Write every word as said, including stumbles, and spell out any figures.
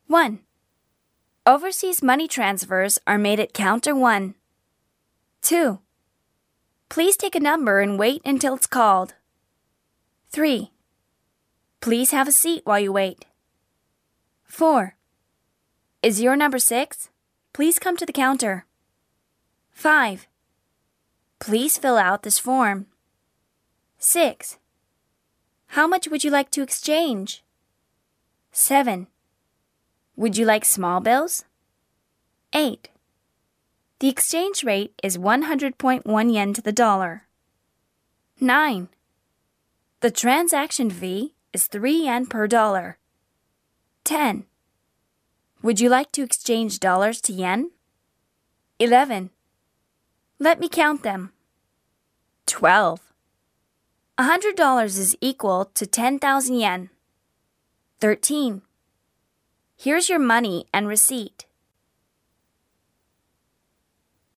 one. Overseas money transfers are made at counter one. two. Please take a number and wait until it's called. three. Please have a seat while you wait. four. Is your number six? Please come to the counter. five. Please fill out this form. six. How much would you like to exchange? seven. Would you like small bills? eight. The exchange rate is one hundred point one yen to the dollar. nine. The transaction fee is three yen per dollar. ten. Would you like to exchange dollars to yen? eleven. Let me count them. twelve. one hundred dollars is equal to ten thousand yen. thirteen. Here's your money and receipt.